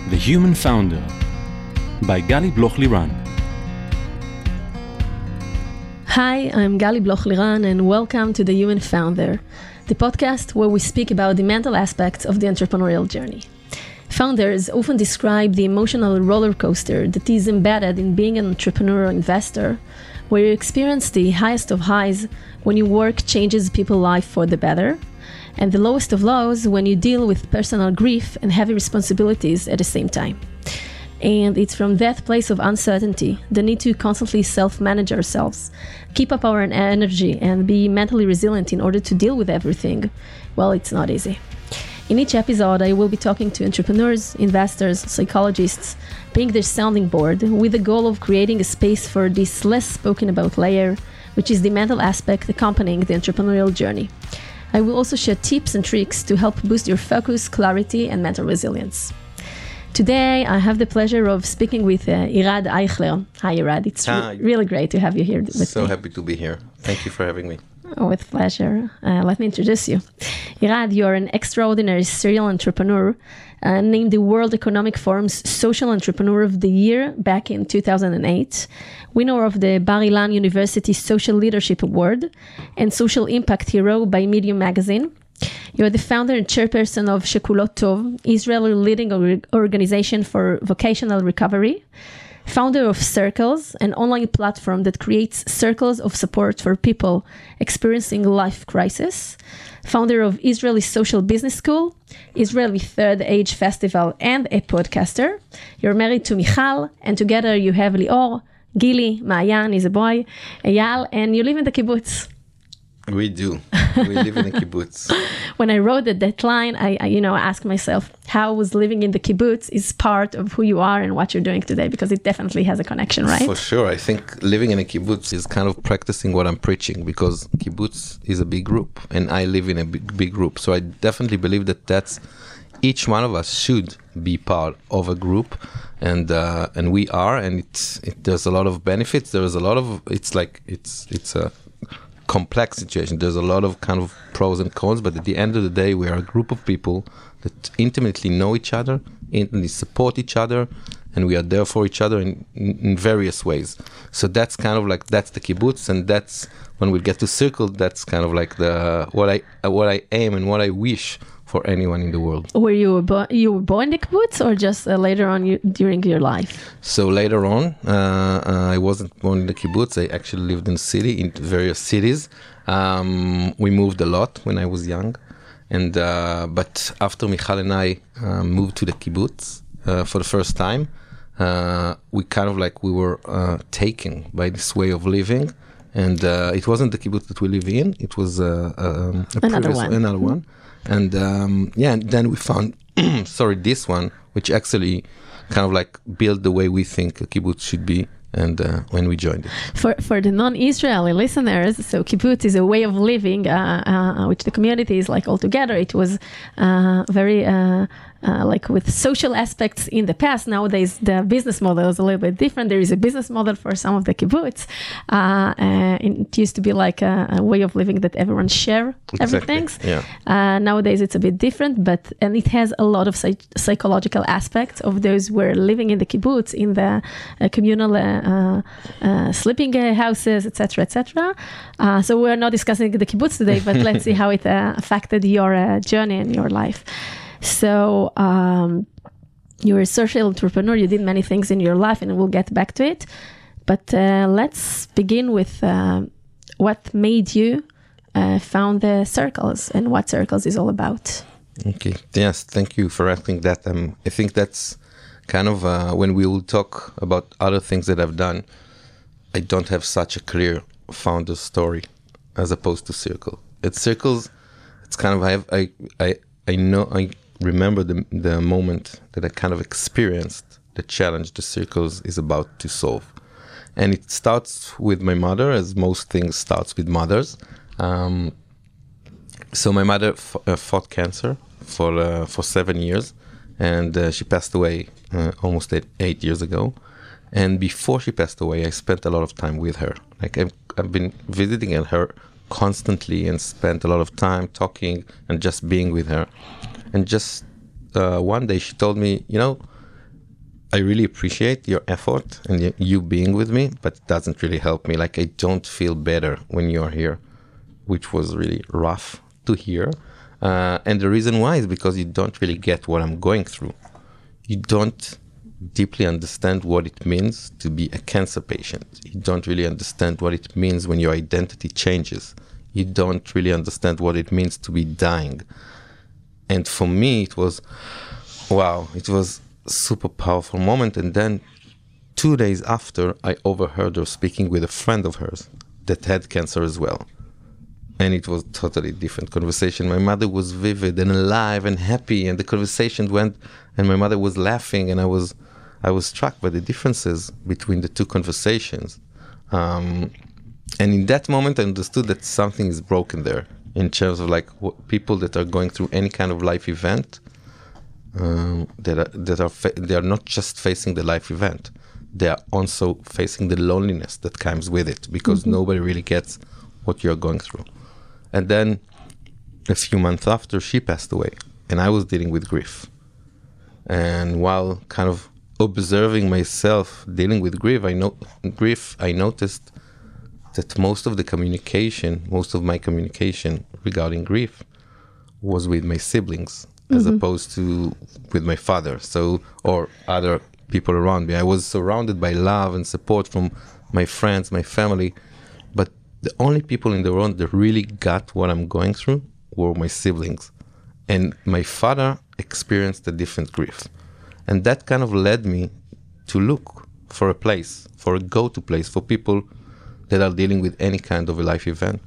The Human Founder by Gali Bloch-Liran. Hi, I'm Gali Bloch-Liran and welcome to The Human Founder, the podcast where we speak about the mental aspects of the entrepreneurial journey. Founders often describe the emotional roller coaster that is embedded in being an entrepreneur or investor, where you experience the highest of highs when your work changes people's life for the better, and the lowest of lows when you deal with personal grief and heavy responsibilities at the same time. And it's from that place of uncertainty, the need to constantly self-manage ourselves, keep up our energy and be mentally resilient in order to deal with everything. Well, it's not easy. In each episode, I will be talking to entrepreneurs, investors, psychologists, being their sounding board with the goal of creating a space for this less spoken about layer, which is the mental aspect accompanying the entrepreneurial journey. I will also share tips and tricks to help boost your focus, clarity, and mental resilience. Today, I have the pleasure of speaking with Irad Eichler. Hi, Irad. It's really great to have you here with me. So happy to be here. Thank you for having me. Oh, with pleasure. Let me introduce you. Irad, you are an extraordinary serial entrepreneur, named the World Economic Forum's Social Entrepreneur of the Year back in 2008, winner of the Bar-Ilan University Social Leadership Award, and Social Impact Hero by Medium Magazine. You are the founder and chairperson of Shekulot Tov, Israel's leading organization for vocational recovery, founder of Circles, an online platform that creates circles of support for people experiencing life crisis, founder of Israeli Social Business School, Israeli Third Age Festival, and a podcaster. You're married to Michal, and together you have Lior, Gili, Maayan is a boy, Eyal, and you live in the kibbutz. We do. We live in a kibbutz. When I wrote the deadline, I asked myself, how was living in the kibbutz is part of who you are and what you're doing today, because it definitely has a connection, right? For sure. I think living in a kibbutz is kind of practicing what I'm preaching, because kibbutz is a big group and I live in a big group. So I definitely believe that each one of us should be part of a group, and we are, and there's a lot of benefits. There's a lot of, it's a complex situation. There's a lot of kind of pros and cons, but at the end of the day, we are a group of people that intimately know each other, intimately support each other, and we are there for each other in various ways. So that's kind of like, that's the kibbutz, and that's when we get to Circle, that's kind of like what I aim and what I wish for anyone in the world. Were you born in the kibbutz, or just later on during your life? So later on, I wasn't born in the kibbutz. I actually lived in the city, in various cities. We moved a lot when I was young, and but after Michal and I moved to the kibbutz for the first time, we kind of like we were taken by this way of living, and it wasn't the kibbutz that we live in. It was another one. And and then we found, this one, which actually kind of like built the way we think a kibbutz should be, and when we joined it. For the non-Israeli listeners, so kibbutz is a way of living, which the community is like all together. It was very like with social aspects in the past. Nowadays, the business model is a little bit different. There is a business model for some of the kibbutz. It used to be like a way of living that everyone share everything. Yeah. Nowadays, it's a bit different, and it has a lot of psychological aspects of those who are living in the kibbutz, in the communal sleeping houses, etc., etc. So we're not discussing the kibbutz today, but let's see how it affected your journey and your life. So you're a social entrepreneur. You did many things in your life, and we'll get back to it. But let's begin with what made you found the Circles and what Circles is all about. Okay. Yes. Thank you for asking that. I think that's kind of when we will talk about other things that I've done, I don't have such a clear founder story as opposed to Circle. At Circles, it's kind of I remember the moment that I kind of experienced the challenge the Circles is about to solve, and it starts with my mother, as most things starts with mothers. So my mother fought cancer for 7 years. And she passed away almost 8 years ago. And before she passed away, I spent a lot of time with her. Like I've been visiting her constantly and spent a lot of time talking and just being with her. And just one day she told me, I really appreciate your effort and you being with me, but it doesn't really help me. Like, I don't feel better when you're here, which was really rough to hear. And the reason why is because you don't really get what I'm going through. You don't deeply understand what it means to be a cancer patient. You don't really understand what it means when your identity changes. You don't really understand what it means to be dying. And for me, it was, wow, it was a super powerful moment. And then 2 days after, I overheard her speaking with a friend of hers that had cancer as well. And it was totally different conversation. My mother was vivid and alive and happy, and the conversation went, and my mother was laughing, and I was struck by the differences between the two conversations. And in that moment, I understood that something is broken there in terms of like people that are going through any kind of life event, they are not just facing the life event, they are also facing the loneliness that comes with it, because nobody really gets what you're going through. And then a few months after, she passed away, and I was dealing with grief. And while kind of observing myself dealing with grief, I noticed that most of my communication regarding grief was with my siblings, as opposed to with my father, or other people around me. I was surrounded by love and support from my friends, my family, but the only people in the world that really got what I'm going through were my siblings. And my father experienced a different grief. And that kind of led me to look for a place, for a go-to place for people that are dealing with any kind of a life event.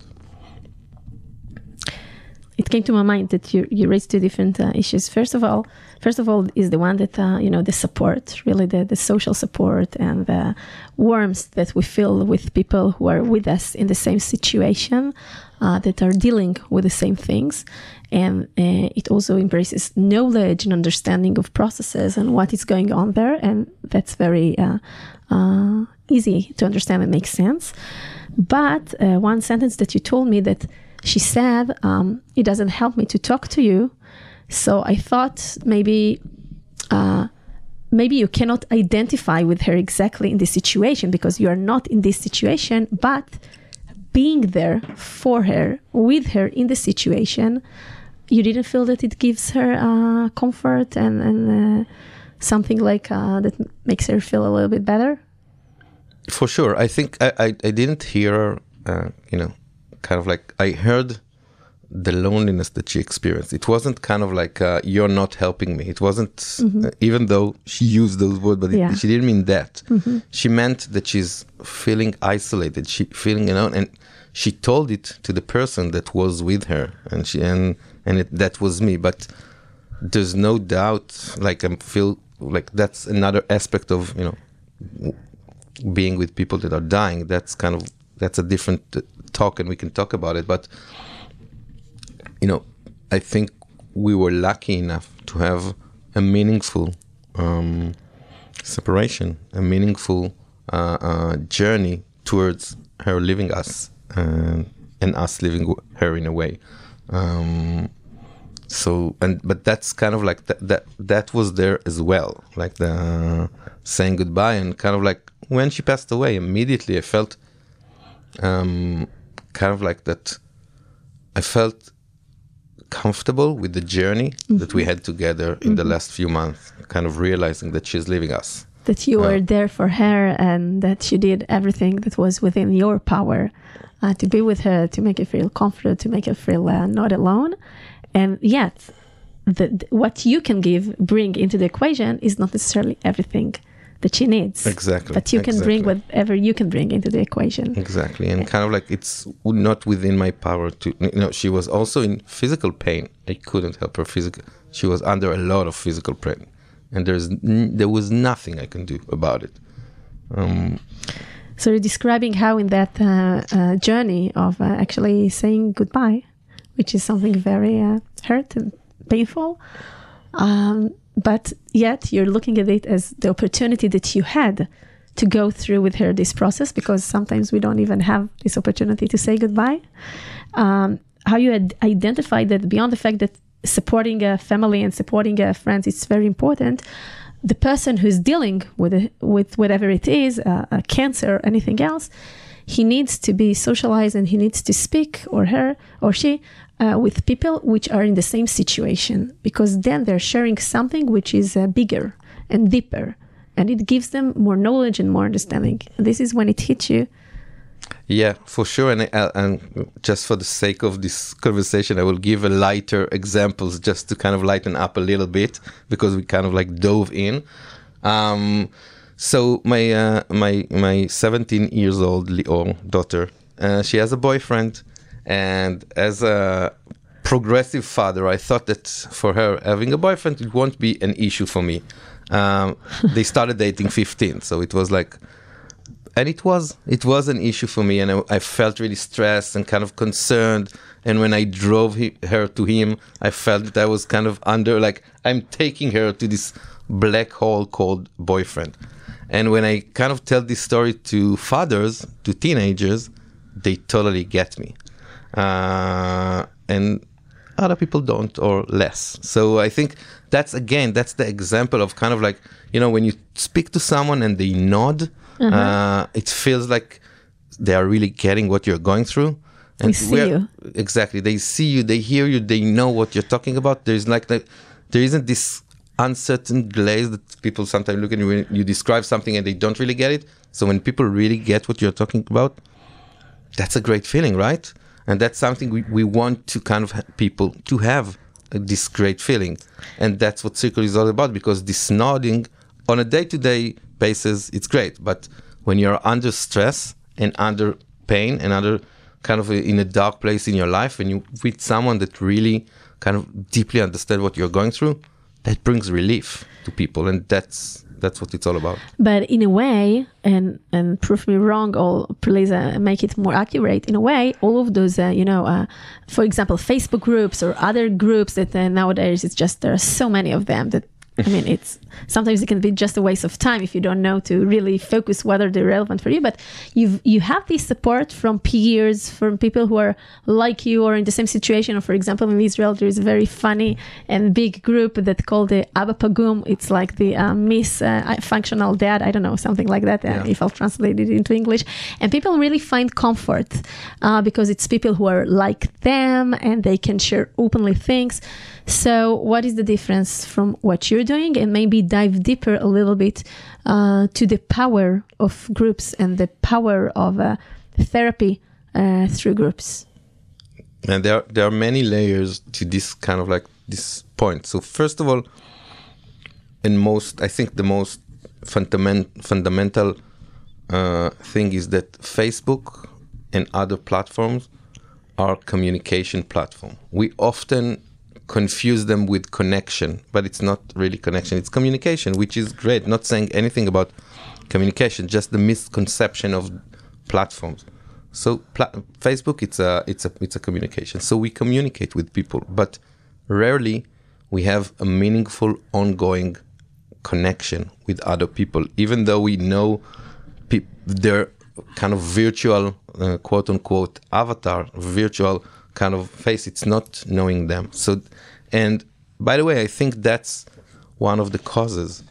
It came to my mind that you raised two different issues. First of all is the one that, the support, really the social support and the warmth that we feel with people who are with us in the same situation, that are dealing with the same things. And it also embraces knowledge and understanding of processes and what is going on there. And that's very easy to understand and make sense. But one sentence that you told me that she said, it doesn't help me to talk to you. So I thought maybe you cannot identify with her exactly in this situation because you are not in this situation, but being there for her, with her in the situation, you didn't feel that it gives her comfort and something like that makes her feel a little bit better? For sure. I think I didn't hear, kind of like I heard the loneliness that she experienced. It wasn't kind of like, you're not helping me. It wasn't, even though she used those words, but she didn't mean that. She meant that she's feeling isolated, and she told it to the person that was with her, and that was me. But there's no doubt, like I feel like that's another aspect of, being with people that are dying. That's a different talk, and we can talk about it. But I think we were lucky enough to have a meaningful separation, a meaningful journey towards her leaving us and us leaving her in a way. But that's kind of like that was there as well, like the saying goodbye, and kind of like when she passed away, immediately I felt kind of like that. I felt comfortable with the journey that we had together in the last few months, kind of realizing that she's leaving us. That you were there for her and that you did everything that was within your power to be with her, to make her feel comforted, to make her feel not alone. And yet, what you can bring into the equation is not necessarily everything that she needs. Exactly. But you can bring whatever you can bring into the equation. Exactly. And kind of like it's not within my power to, she was also in physical pain. I couldn't help her physically. She was under a lot of physical pain. And there was nothing I can do about it. So you're describing how in that journey of actually saying goodbye, which is something very hurt and painful, but yet you're looking at it as the opportunity that you had to go through with her this process, because sometimes we don't even have this opportunity to say goodbye. How you had identified that beyond the fact that supporting a family and supporting friends is very important, the person who's dealing with whatever it is, a cancer or anything else, he needs to be socialized and he needs to speak, or her or she, with people which are in the same situation, because then they're sharing something which is bigger and deeper, and it gives them more knowledge and more understanding. And this is when it hits you. Yeah, for sure. And just for the sake of this conversation, I will give a lighter examples just to kind of lighten up a little bit, because we kind of like dove in. So my 17 years old Lior daughter, she has a boyfriend, and as a progressive father, I thought that for her having a boyfriend, it won't be an issue for me. They started dating 15, so it was like, and it was an issue for me, and I felt really stressed and kind of concerned. And when I drove her to him, I felt that I was kind of under, like, I'm taking her to this black hole called boyfriend. And when I kind of tell this story to fathers, to teenagers, they totally get me. And other people don't, or less. So I think that's the example of kind of like, when you speak to someone and they nod, it feels like they are really getting what you're going through. And we see you. Exactly. They see you, they hear you, they know what you're talking about. There isn't this uncertain glaze that people sometimes look at you when you describe something and they don't really get it. So when people really get what you're talking about, that's a great feeling, right? And that's something we want to kind of people to have, this great feeling. And that's what Circle is all about, because this nodding on a day-to-day basis, it's great. But when you're under stress and under pain and under kind of in a dark place in your life, and you with someone that really kind of deeply understands what you're going through, that brings relief to people, and that's what it's all about. But in a way, and prove me wrong, or please make it more accurate. In a way, all of those, for example, Facebook groups or other groups that nowadays there are so many of them that. I mean, sometimes it can be just a waste of time if you don't know to really focus whether they're relevant for you. But you have this support from peers, from people who are like you or in the same situation. Or for example, in Israel, there is a very funny and big group that's called the Abba Pagum. It's like the Miss Functional Dad. I don't know, something like that. If I'll translate it into English. And people really find comfort because it's people who are like them and they can share openly things. So what is the difference from what you're doing, and maybe dive deeper a little bit to the power of groups and the power of therapy through groups? And there are many layers to this kind of like this point. So first of all, I think the most fundamental thing is that Facebook and other platforms are communication platform. We often confuse them with connection, but it's not really connection, it's communication, which is great. Not saying anything about communication, just the misconception of platforms. So Facebook, it's a communication. So we communicate with people, but rarely we have a meaningful ongoing connection with other people, even though we know their kind of virtual quote unquote avatar, virtual kind of face. It's not knowing them. So, and by the way, I think that's one of the causes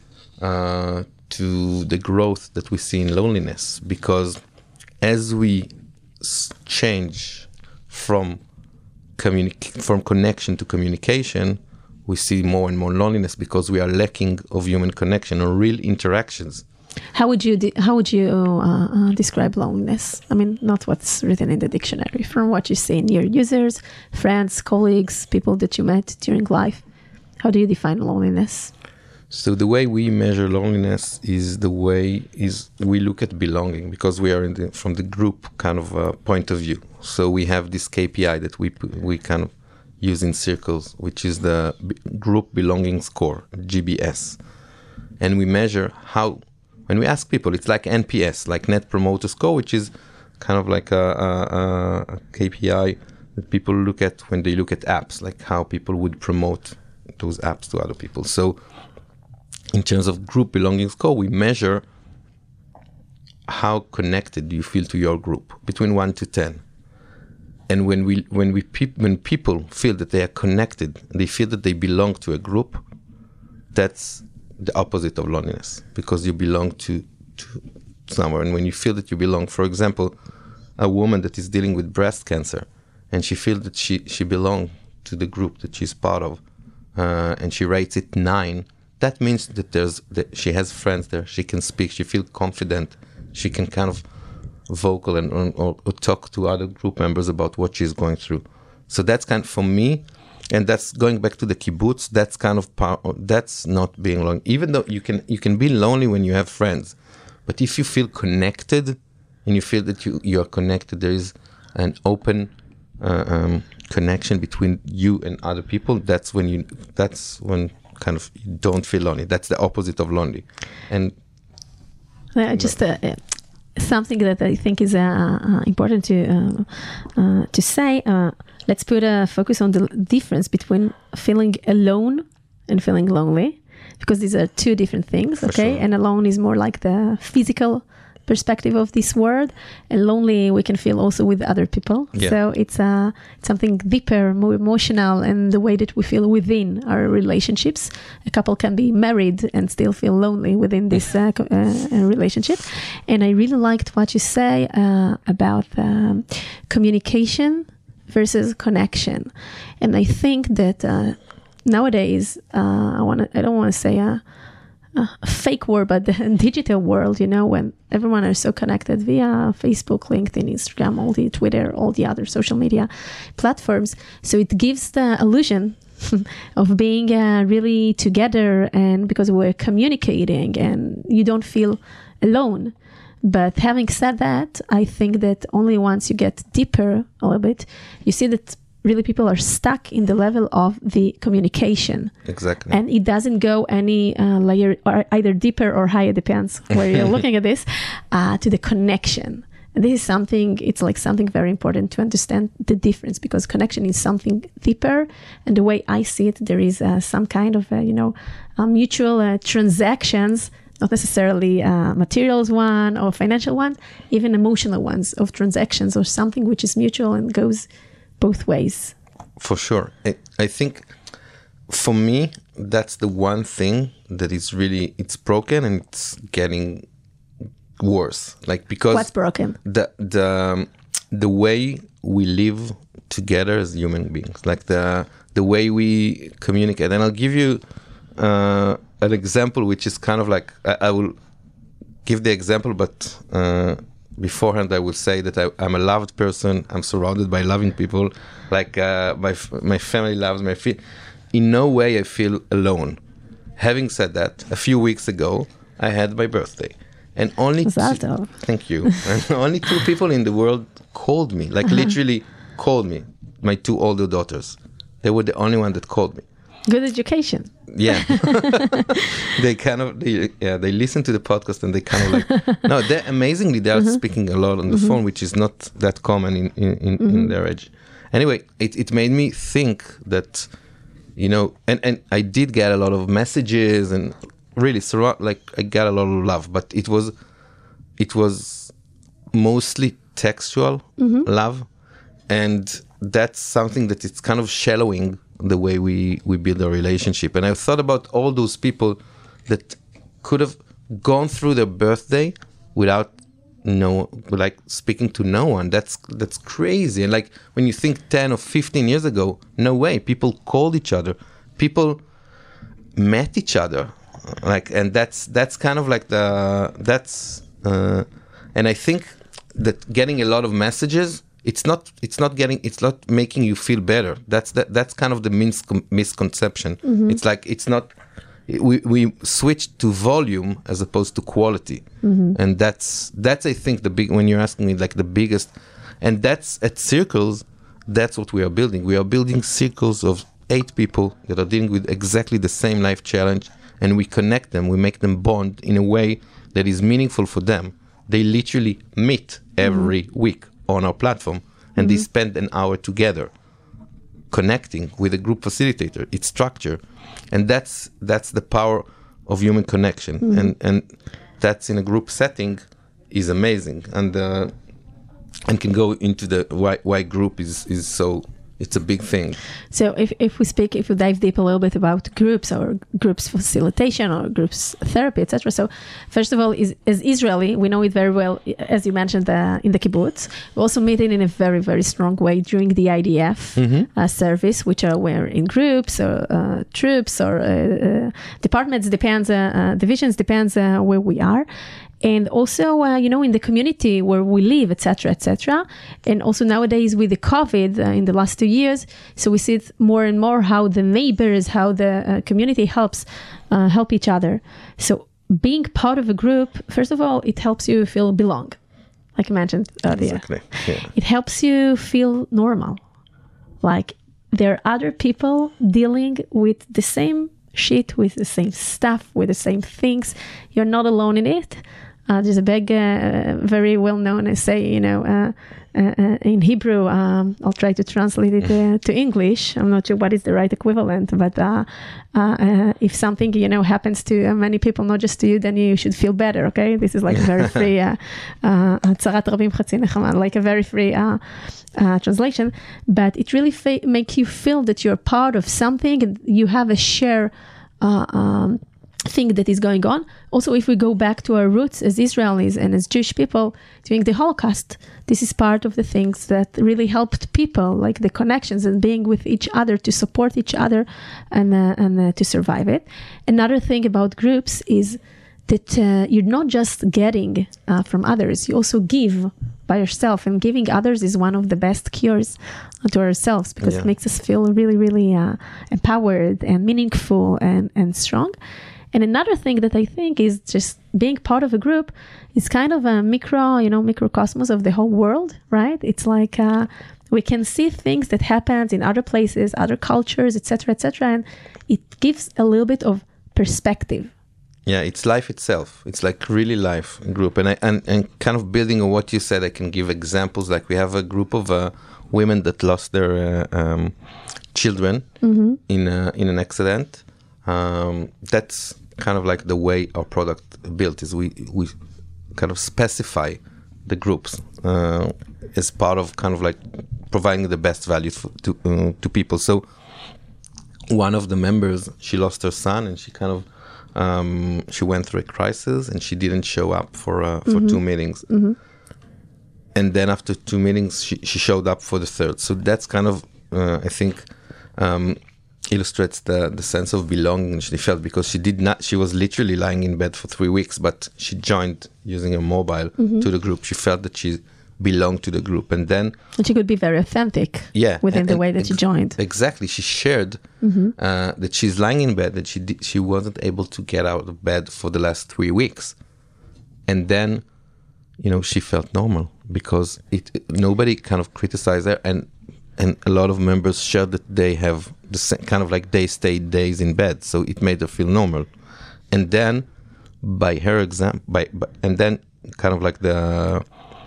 to the growth that we see in loneliness, because as we change from connection to communication, we see more and more loneliness because we are lacking of human connection or real interactions. How would you describe loneliness? I mean, not what's written in the dictionary, from what you see in your users, friends, colleagues, people that you met during life. How do you define loneliness? So the way we measure loneliness is we look at belonging, because we are from the group kind of point of view. So we have this KPI that we kind of use in circles, which is the group belonging score, GBS. And we measure how, when we ask people, it's like NPS, like Net Promoter Score, which is kind of like a KPI that people look at when they look at apps, like how people would promote those apps to other people. So in terms of group belonging score, we measure how connected you feel to your group between 1 to 10. And when people feel that they are connected, they feel that they belong to a group, that's the opposite of loneliness, because you belong to somewhere. And when you feel that you belong, for example, a woman that is dealing with breast cancer, and she feels that she belongs to the group that she's part of, and she rates it 9, that means that she has friends there. She can speak. She feels confident. She can kind of vocal or talk to other group members about what she's going through. So that's kind of, for me, and that's going back to the kibbutz. That's kind of that's not being lonely. Even though you can be lonely when you have friends, but if you feel connected and you feel that you are connected, there is an open connection between you and other people. That's when kind of you don't feel lonely. That's the opposite of lonely. And just something that I think is important to say. Let's put a focus on the difference between feeling alone and feeling lonely, because these are two different things. Okay, sure. And alone is more like the physical perspective of this word, and lonely we can feel also with other people. Yeah. So it's something deeper, more emotional, and the way that we feel within our relationships. A couple can be married and still feel lonely within this relationship. And I really liked what you say about communication versus connection. And I think that nowadays, I don't want to say a fake world, but the digital world, when everyone is so connected via Facebook, LinkedIn, Instagram, all the Twitter, all the other social media platforms. So it gives the illusion of being really together, and because we're communicating and you don't feel alone. But having said that, I think that only once you get deeper a little bit, you see that really people are stuck in the level of the communication. Exactly. And it doesn't go any layer, or either deeper or higher, depends where you're looking at this, to the connection. And this is something, it's like something very important to understand the difference, because connection is something deeper. And the way I see it, there is some kind of, mutual transactions, not necessarily materials one or financial one, even emotional ones of transactions, or something which is mutual and goes both ways. For sure. I think for me, that's the one thing that is really, it's broken and it's getting worse. Like, because what's broken? The way we live together as human beings, like the way we communicate. And I'll give you an example, which is kind of like, I will give the example, but beforehand I will say that I'm a loved person. I'm surrounded by loving people. Like my family loves me. In no way I feel alone. Having said that, a few weeks ago I had my birthday, and only thank you. And only 2 people in the world called me, like literally called me. My 2 older daughters. They were the only one that called me. Good education. Yeah. They listen to the podcast and they kind of like, no, they are speaking a lot on the phone, which is not that common in their age. Anyway, it made me think that, and I did get a lot of messages and really, I got a lot of love, but it was mostly textual love. And that's something that it's kind of shallowing the way we build a relationship. And I thought about all those people that could have gone through their birthday without speaking to no one. That's crazy. And like, when you think 10 or 15 years ago, no way. People called each other. People met each other. And that's kind of like and I think that getting a lot of messages, it's not making you feel better. That's kind of the misconception. It's like, it's not, we switched to volume as opposed to quality. And that's I think when you're asking me, like, the biggest, and that's at Circles, that's what we are building. We are building circles of 8 people that are dealing with exactly the same life challenge, and we connect them, we make them bond in a way that is meaningful for them. They literally meet every week on our platform, and they spend an hour together connecting with a group facilitator. It's structure, and that's the power of human connection, and that's in a group setting is amazing, and can go into the why group is so it's a big thing. So if we dive deep a little bit about groups or groups facilitation or groups therapy, etc. So first of all, as Israeli, we know it very well, as you mentioned, in the kibbutz. We also meet it in a very, very strong way during the IDF service, which are where in groups or troops or departments, divisions, depends where we are. And also, in the community where we live, etc., etc. And also nowadays with the COVID in the last 2 years, so we see it more and more how the neighbors, how the community help each other. So being part of a group, first of all, it helps you feel belong, like I mentioned earlier. Exactly. Yeah. It helps you feel normal. Like there are other people dealing with the same shit, with the same stuff, with the same things. You're not alone in it. There's a big, very well-known essay, in Hebrew. I'll try to translate it to English. I'm not sure what is the right equivalent, but if something, happens to many people, not just to you, then you should feel better, okay? This is like a very free, צרת רבים חצי נחמה, like a very free translation. But it really makes you feel that you're part of something and you have a share thing that is going on. Also, if we go back to our roots as Israelis and as Jewish people during the Holocaust, this is part of the things that really helped people, like the connections and being with each other to support each other and to survive it. Another thing about groups is that you're not just getting from others, you also give by yourself, and giving others is one of the best cures to ourselves because it makes us feel really, really empowered and meaningful and strong. And another thing that I think is just being part of a group is kind of a microcosmos of the whole world, right? It's like we can see things that happen in other places, other cultures, etc., and it gives a little bit of perspective. Yeah, it's life itself. It's like really life in group. And kind of building on what you said, I can give examples. Like we have a group of women that lost their children in an accident. That's kind of like the way our product built is we kind of specify the groups as part of kind of like providing the best value to people. So one of the members, she lost her son and she kind of she went through a crisis and she didn't show up for 2 meetings. And then after 2 meetings, she showed up for the third. So that's kind of, I think, illustrates the sense of belonging she felt, because she was literally lying in bed for 3 weeks, but she joined using her mobile to the group. She felt that she belonged to the group, and she could be very authentic within the way that she joined. Exactly. She shared that she's lying in bed, that she wasn't able to get out of bed for the last 3 weeks. And then, she felt normal because nobody kind of criticized her, and a lot of members shared that they have the same, kind of like they stayed days in bed, so it made her feel normal. And then, by her example, and then kind of like the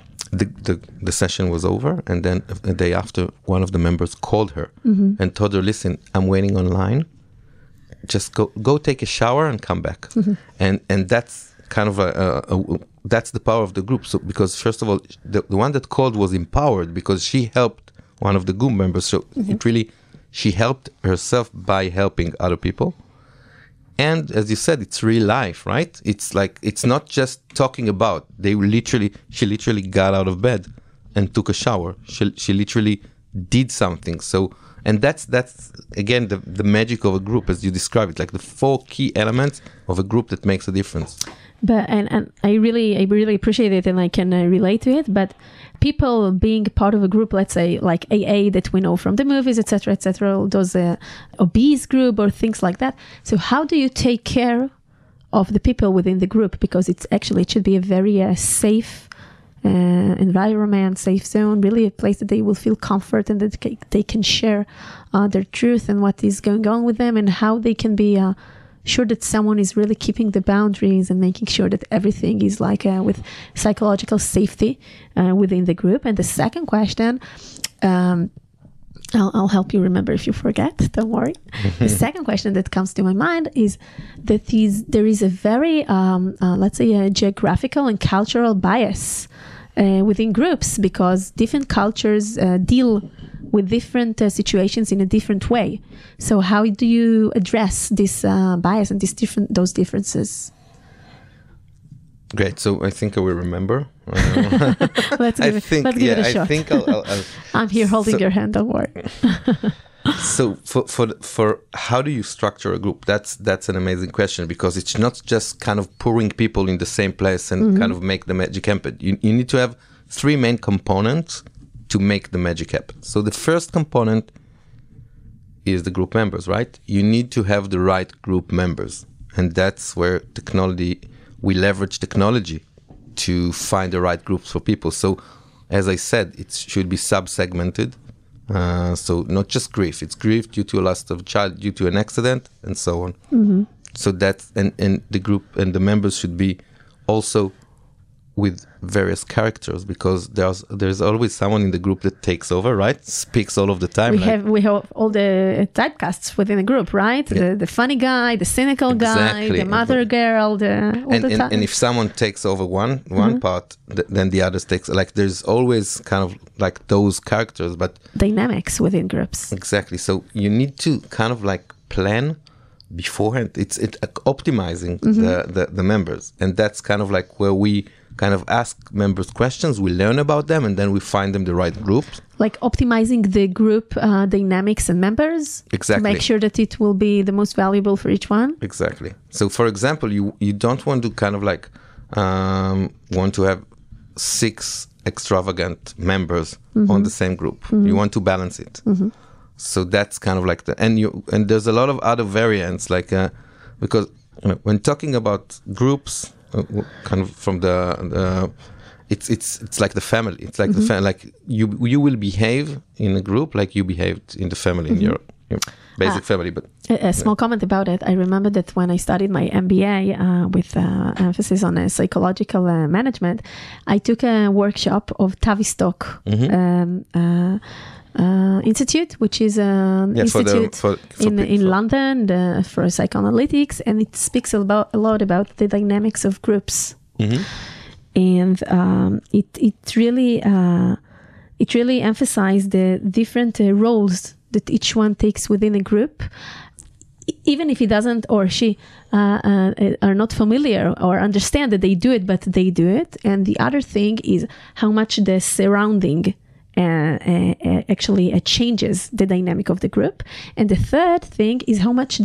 session was over, and then a day after, one of the members called her and told her, "Listen, I'm waiting online. Just go take a shower and come back." And that's kind of that's the power of the group. So because first of all, the one that called was empowered because she helped one of the group members. So she helped herself by helping other people. And as you said, it's real life, right? It's like, it's not just talking about, she literally got out of bed and took a shower. She literally did something. So, and that's again, the magic of a group, as you describe it, like the 4 key elements of a group that makes a difference. But and I really appreciate it, and I can relate to it. But people being part of a group, let's say like AA that we know from the movies, etc., those obese group or things like that. So how do you take care of the people within the group? Because it should be a very safe environment, safe zone, really a place that they will feel comfort and that they can share their truth and what is going on with them, and how they can be sure that someone is really keeping the boundaries and making sure that everything is like with psychological safety within the group. And the second question, I'll help you remember if you forget, don't worry. The second question that comes to my mind is that there is a very, let's say, a geographical and cultural bias within groups, because different cultures deal with different situations in a different way. So how do you address this bias and those differences? Great. So I think I will remember. Let's give it a shot. I think I'll I'm here holding your hand. Don't worry. So for how do you structure a group? That's an amazing question, because it's not just kind of pouring people in the same place and kind of make the magic happen. You need to have three main components to make the magic happen. So the first component is the group members, right? You need to have the right group members, and that's where we leverage technology to find the right groups for people. So as I said, it should be sub-segmented. So not just grief, it's grief due to a loss of a child, due to an accident, and so on. Mm-hmm. So that's, and the group and the members should be also with various characters, because there's always someone in the group that takes over, right? Speaks all of the time. We have all the typecasts within the group, right? Yeah. The funny guy, the cynical guy, the mother girl, and if someone takes over one part, then the others takes, like, there's always kind of like those characters, but dynamics within groups. Exactly. So you need to kind of like plan beforehand. It's optimizing the members, and that's kind of like where we kind of ask members questions, we learn about them, and then we find them the right groups. Like optimizing the group dynamics and members. Exactly. To make sure that it will be the most valuable for each one. Exactly. So for example, you don't want to kind of like want to have 6 extravagant members on the same group. You want to balance it. So that's kind of like and there's a lot of other variants, like because when talking about groups, kind of from it's like the family. It's like the like you will behave in a group like you behaved in the family, in your basic family. But a small comment about it. I remember that when I studied my MBA with emphasis on psychological management, I took a workshop of Tavistock Institute, which is an institute in London for psychoanalytics, and it speaks a lot about the dynamics of groups. And it really emphasized the different roles that each one takes within a group, even if he doesn't or she are not familiar or understand that they do it, but they do it. And the other thing is how much the surrounding actually changes the dynamic of the group. And the third thing is how much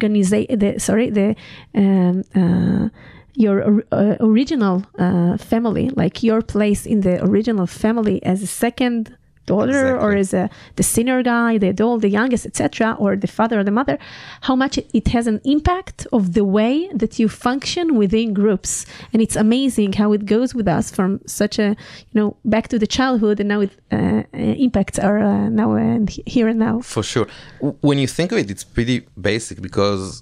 your original family, like your place in the original family as a second daughter, or as the senior guy, the adult, the youngest, etc., or the father or the mother, how much it has an impact of the way that you function within groups. And it's amazing how it goes with us from such a, back to the childhood, and now it impacts our now and here and now. For sure. When you think of it, it's pretty basic, because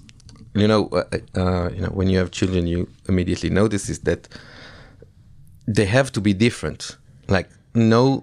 when you have children, you immediately notice is that they have to be different. Like no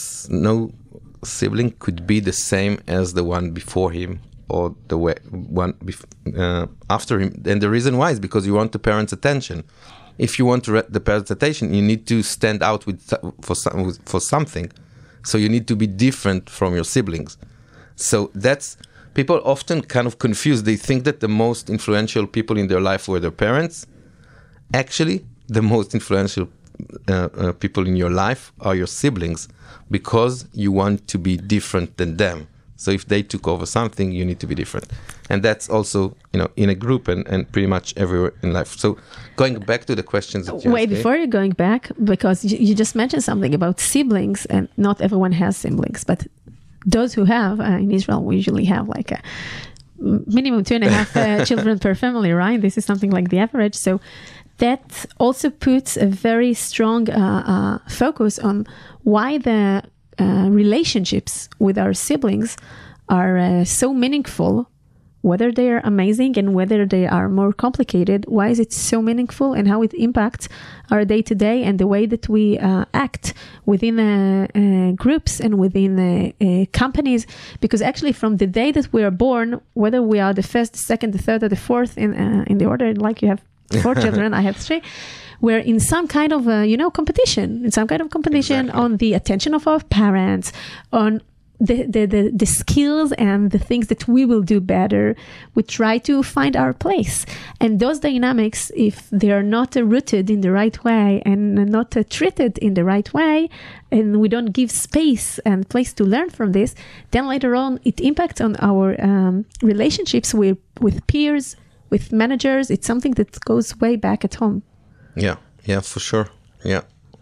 sibling could be the same as the one before him or the one after him. And the reason why is because you want the parents' attention. If you want the parents' attention, you need to stand out for something. So you need to be different from your siblings. So that's, people often kind of confused. They think that the most influential people in their life were their parents. Actually, the most influential people in your life are your siblings, because you want to be different than them. So if they took over something, you need to be different. And that's also, in a group and pretty much everywhere in life. So going back to the questions that you asked. Before you're going back, because you just mentioned something about siblings, and not everyone has siblings, but those who have, in Israel, we usually have like a minimum 2.5 children per family, right? This is something like the average. So that also puts a very strong focus on why the relationships with our siblings are so meaningful, whether they are amazing and whether they are more complicated. Why is it so meaningful, and how it impacts our day-to-day and the way that we act within groups and within companies? Because actually from the day that we are born, whether we are the first, the second, the third, or the fourth in the order, like you have 4 children, I have 3, we're in some kind of competition, Exactly. on the attention of our parents, on the skills and the things that we will do better. We try to find our place. And those dynamics, if they are not rooted in the right way and not treated in the right way, and we don't give space and place to learn from this, then later on it impacts on our relationships with peers, with managers. It's something that goes way back at home. Yeah, for sure. Yeah.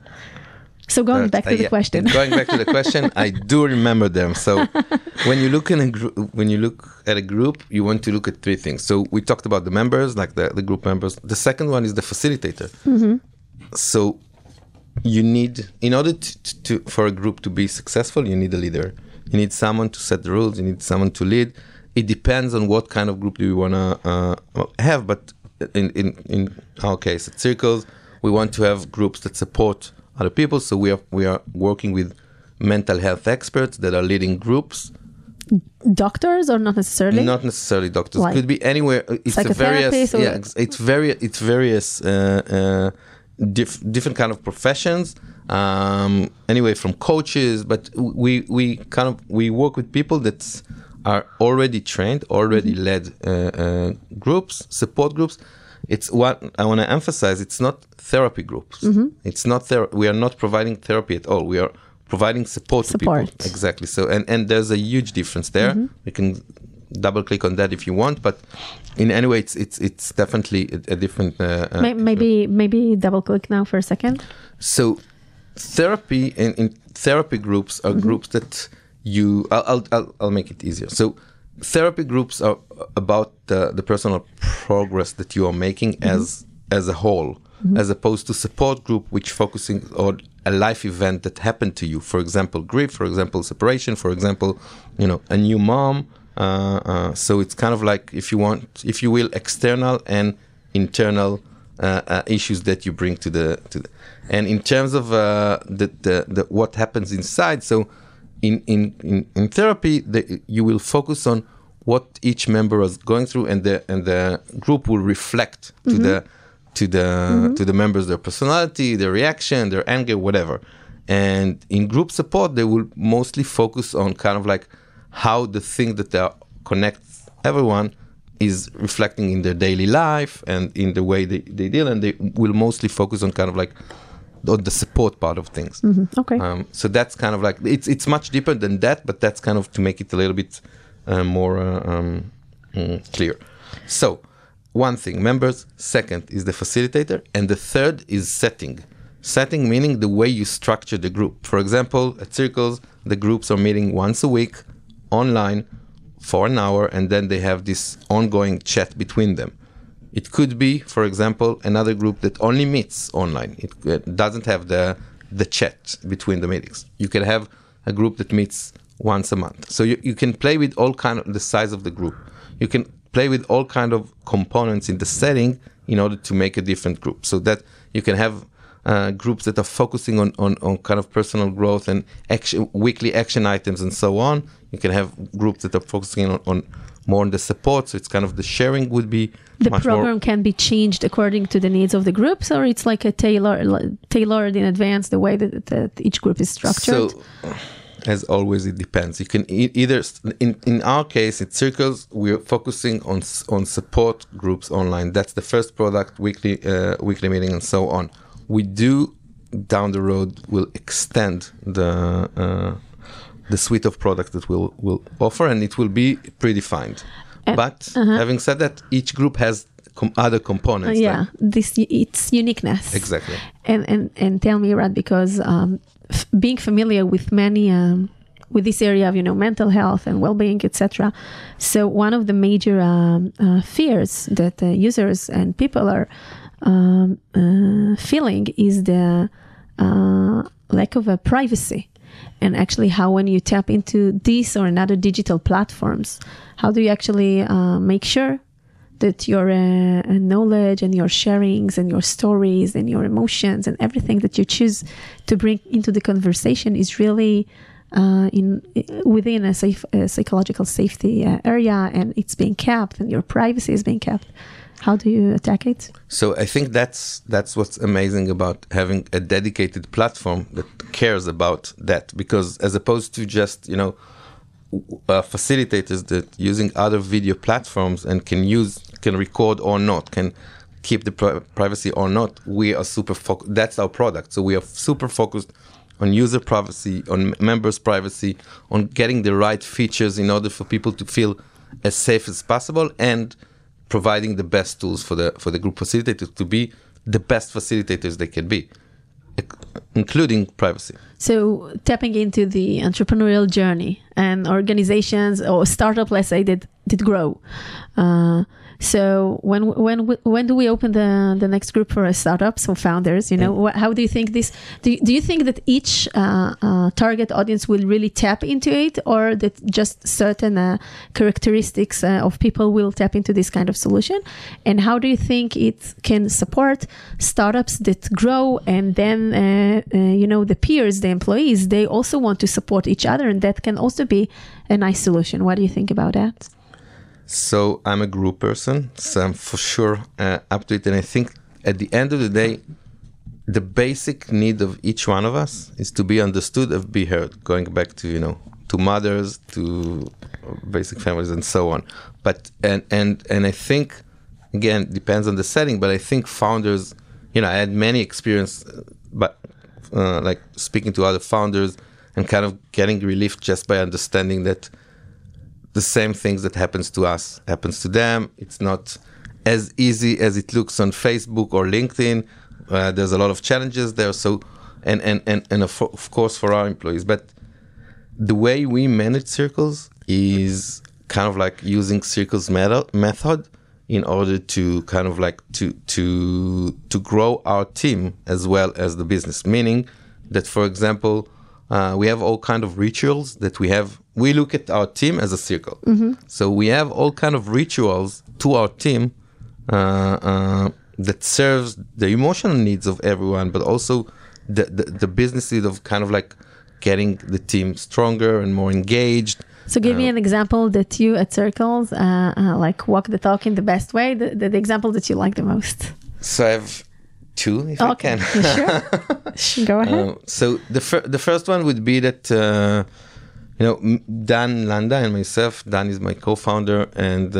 So going back to the question. Going back to the question, I do remember them. So when you look at a group, you want to look at three things. So we talked about the members, like the group members. The second one is the facilitator. Mm-hmm. So you need, in order to for a group to be successful, you need a leader. You need someone to set the rules. You need someone to lead. It depends on what kind of group do you want to have. But in our case, at Circles, we want to have groups that support other people. So we are working with mental health experts that are leading groups. Doctors or not necessarily? Not necessarily doctors. Why? Could be anywhere. It's a various. Yeah, it's various different kind of professions. Anyway, from coaches, but we work with people that are already trained, already led groups, support groups. It's what I want to emphasize. It's not therapy groups. Mm-hmm. It's not we are not providing therapy at all. We are providing support to people. Exactly. So and there's a huge difference there. Mm-hmm. We can double click on that if you want, but in any way, it's definitely a different. Maybe double click now for a second. So therapy in therapy groups are mm-hmm. groups that I'll make it easier. So therapy groups are about the personal progress that you are making mm-hmm. as a whole, mm-hmm. as opposed to support group, which focusing on a life event that happened to you. For example, grief, for example, separation, for example, a new mom. So it's kind of like, if you will, external and internal issues that you bring to the. And in terms of the what happens inside, so in therapy, you will focus on what each member is going through, and the group will reflect mm-hmm. to the members, their personality, their reaction, their anger, whatever. And in group support, they will mostly focus on kind of like how the thing that connects everyone is reflecting in their daily life and in the way they deal, and they will mostly focus on kind of like on the support part of things. Mm-hmm. Okay. So that's kind of like, it's much deeper than that, but that's kind of to make it a little bit more clear. So one thing, members. Second is the facilitator, and the third is setting. Setting meaning the way you structure the group. For example, at Circles, the groups are meeting once a week online for an hour, and then they have this ongoing chat between them. It could be, for example, another group that only meets online. It doesn't have the chat between the meetings. You can have a group that meets once a month. So you can play with all kind of the size of the group. You can play with all kind of components in the setting in order to make a different group. So that you can have groups that are focusing on kind of personal growth and weekly action items and so on. You can have groups that are focusing on more on the support. So it's kind of the sharing would be the program can be changed according to the needs of the groups, or it's like a tailored in advance the way that each group is structured. So as always, it depends. You can either in our case at Circles, we're focusing on support groups online. That's the first product, weekly meeting and so on. We do down the road will extend the suite of products that we'll offer, and it will be predefined. But having said that, each group has other components. Its uniqueness. Exactly. And tell me, Rad, because being familiar with many with this area of mental health and well-being, etc. So one of the major fears that users and people are feeling is the lack of privacy. And actually how when you tap into this or another digital platforms, how do you actually make sure that your knowledge and your sharings and your stories and your emotions and everything that you choose to bring into the conversation is really within a safe psychological safety area, and it's being kept and your privacy is being kept? How do you attack it? So I think that's what's amazing about having a dedicated platform that cares about that, because as opposed to just facilitators that using other video platforms and can record or not, can keep the privacy or not, we are super focused. That's our product. So we are super focused on user privacy, on members' privacy, on getting the right features in order for people to feel as safe as possible, and providing the best tools for the group facilitators to be the best facilitators they can be, including privacy. So tapping into the entrepreneurial journey, and organizations or startup, let's say, did grow. So when do we open the next group for startups or founders? How do you think this? Do you think that each target audience will really tap into it, or that just certain characteristics of people will tap into this kind of solution? And how do you think it can support startups that grow, and then the peers, the employees, they also want to support each other, and that can also be a nice solution. What do you think about that? So I'm a group person, so I'm for sure up to it. And I think at the end of the day, the basic need of each one of us is to be understood and be heard, going back to, to mothers, to basic families and so on. But, and I think, again, it depends on the setting, but I think founders, I had many experience, but like speaking to other founders and kind of getting relief just by understanding that the same things that happens to us happens to them. It's not as easy as it looks on Facebook or LinkedIn. There's a lot of challenges there. So, and of course for our employees. But the way we manage Circles is kind of like using Circles method in order to kind of like to grow our team as well as the business. Meaning that, for example, we have all kind of rituals that we have. We look at our team as a circle. Mm-hmm. So we have all kind of rituals to our team that serves the emotional needs of everyone, but also the business need of kind of like getting the team stronger and more engaged. So give me an example that you at Circles like walk the talk in the best way, the example that you like the most. So I have two, if I can. Sure. Go ahead. So the first one would be that Dan Landa and myself. Dan is my co-founder and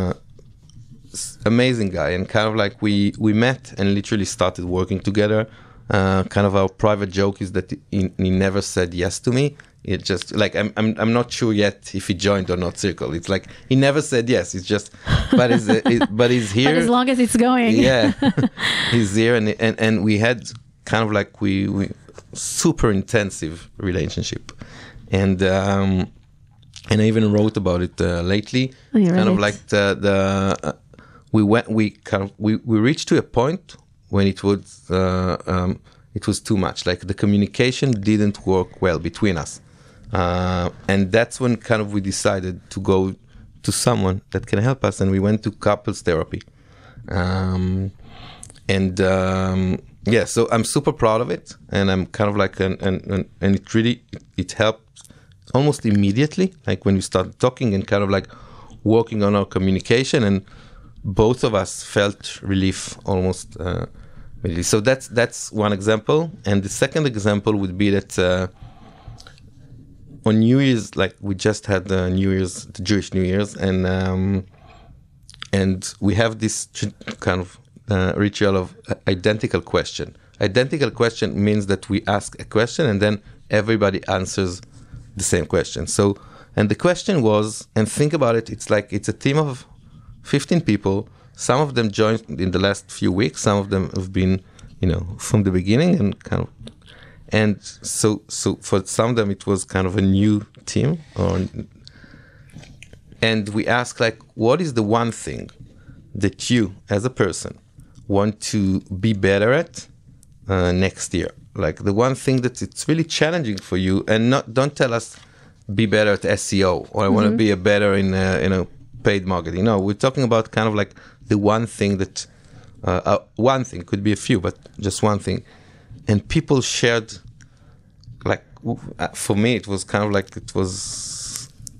amazing guy, and kind of like we met and literally started working together. Kind of our private joke is that he never said yes to me. It just like I'm not sure yet if he joined or not Circle. It's like he never said yes. It's just but he's here. But as long as it's going. Yeah, he's here, and we had kind of like we super intensive relationship, and I even wrote about it lately. Oh, kind right. Of like we reached to a point when it was too much. Like the communication didn't work well between us. And that's when kind of we decided to go to someone that can help us, and we went to couples therapy. So I'm super proud of it, and I'm kind of like, and it helped almost immediately, like when we started talking and kind of like working on our communication, and both of us felt relief almost immediately. So that's one example. And the second example would be that on New Year's, like we just had the Jewish New Year's, and we have this kind of ritual of identical question. Identical question means that we ask a question and then everybody answers the same question. So, and the question was, and think about it, it's like it's a team of 15 people. Some of them joined in the last few weeks. Some of them have been, from the beginning, and so for some of them it was kind of a new team. And we asked, like, what is the one thing that you, as a person, want to be better at next year? Like the one thing that it's really challenging for you, and don't tell us be better at SEO or I want to be better in paid marketing. No, we're talking about kind of like the one thing that one thing could be a few, but just one thing. And people shared, like, for me, it was kind of like it was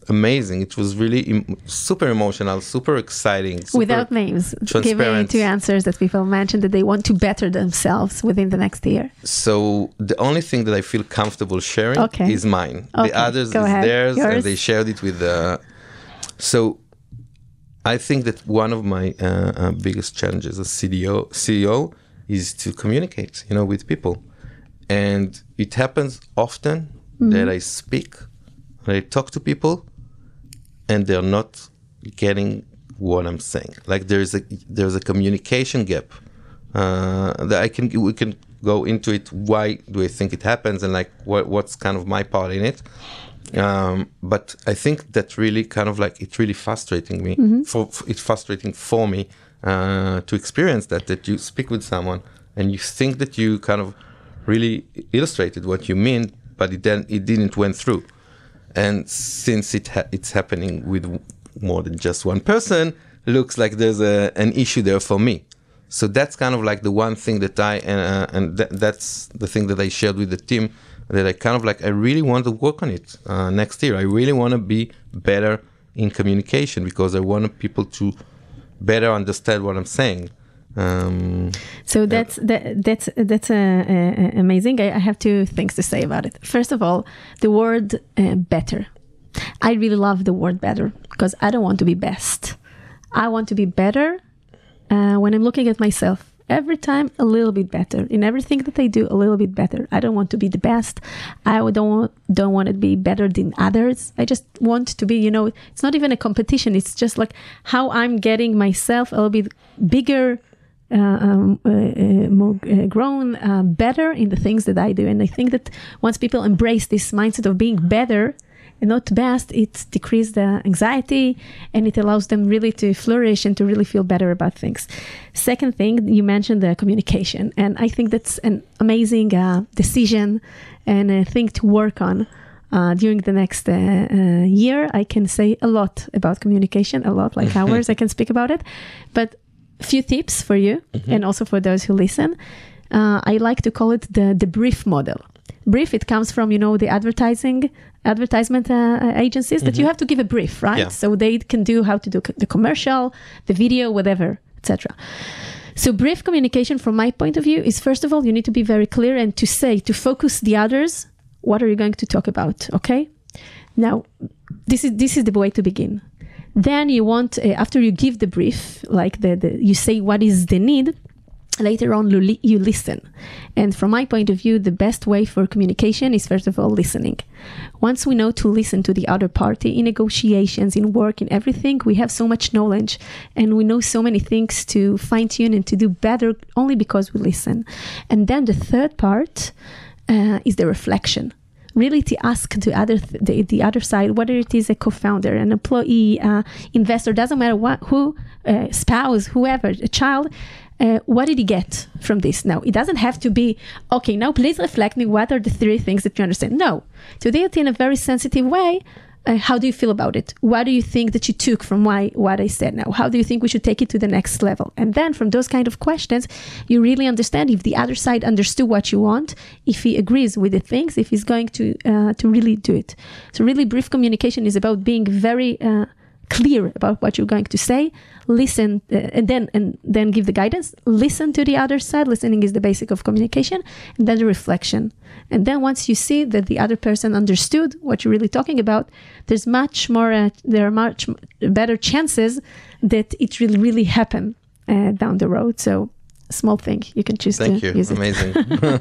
amazing. It was really super emotional, super exciting. Super Without names, give me 2 answers that people mentioned that they want to better themselves within the next year. So the only thing that I feel comfortable sharing is mine. Okay. The others is theirs, and they shared it with So I think that one of my biggest challenges as CEO is to communicate, with people. And it happens often that I speak, I talk to people, and they're not getting what I'm saying. Like there's a communication gap that we can go into it. Why do I think it happens, and like what's kind of my part in it? But I think that really kind of like it's really frustrating me. It's frustrating for me to experience that you speak with someone and you think that you kind of really illustrated what you mean, but it didn't went through. And since it's happening with more than just one person, looks like there's an issue there for me. So that's kind of like the one thing that that's the thing that I shared with the team, that I kind of like, I really want to work on it next year. I really want to be better in communication because I want people to better understand what I'm saying. So that's amazing. I have 2 things to say about it. First of all, the word better. I really love the word better because I don't want to be best. I want to be better when I'm looking at myself. Every time a little bit better. In everything that I do, a little bit better. I don't want to be the best. I don't want to be better than others. I just want to be, it's not even a competition. It's just like how I'm getting myself a little bit bigger, more grown, better in the things that I do. And I think that once people embrace this mindset of being better and not best, it decreases the anxiety and it allows them really to flourish and to really feel better about things. Second thing, you mentioned the communication. And I think that's an amazing decision and a thing to work on during the next year. I can say a lot about communication, a lot, like hours I can speak about it. But a few tips for you and also for those who listen. I like to call it the brief model. Brief, it comes from, the advertisement agencies that you have to give a brief, right? Yeah. So they can do how to do the commercial, the video, whatever, etc. So brief communication from my point of view is, first of all, you need to be very clear and to focus the others. What are you going to talk about? Okay. Now, this is the way to begin. Then you want, after you give the brief, like you say what is the need, later on you listen. And from my point of view, the best way for communication is, first of all, listening. Once we know to listen to the other party in negotiations, in work, in everything, we have so much knowledge and we know so many things to fine tune and to do better only because we listen. And then the third part is the reflection. Really to ask the other side, whether it is a co-founder, an employee, investor, doesn't matter who, spouse, whoever, a child, what did he get from this? Now, it doesn't have to be, okay, now please reflect me, what are the 3 things that you understand? No, to do it in a very sensitive way. How do you feel about it? What do you think that you took from what I said now? How do you think we should take it to the next level? And then from those kind of questions, you really understand if the other side understood what you want, if he agrees with the things, if he's going to really do it. So really brief communication is about being very clear about what you're going to say, listen, and then give the guidance, listen to the other side. Listening is the basic of communication, and then the reflection. And then once you see that the other person understood what you're really talking about, there are much better chances that it will really happen down the road. So small thing, you can choose Thank to you. use it. Amazing.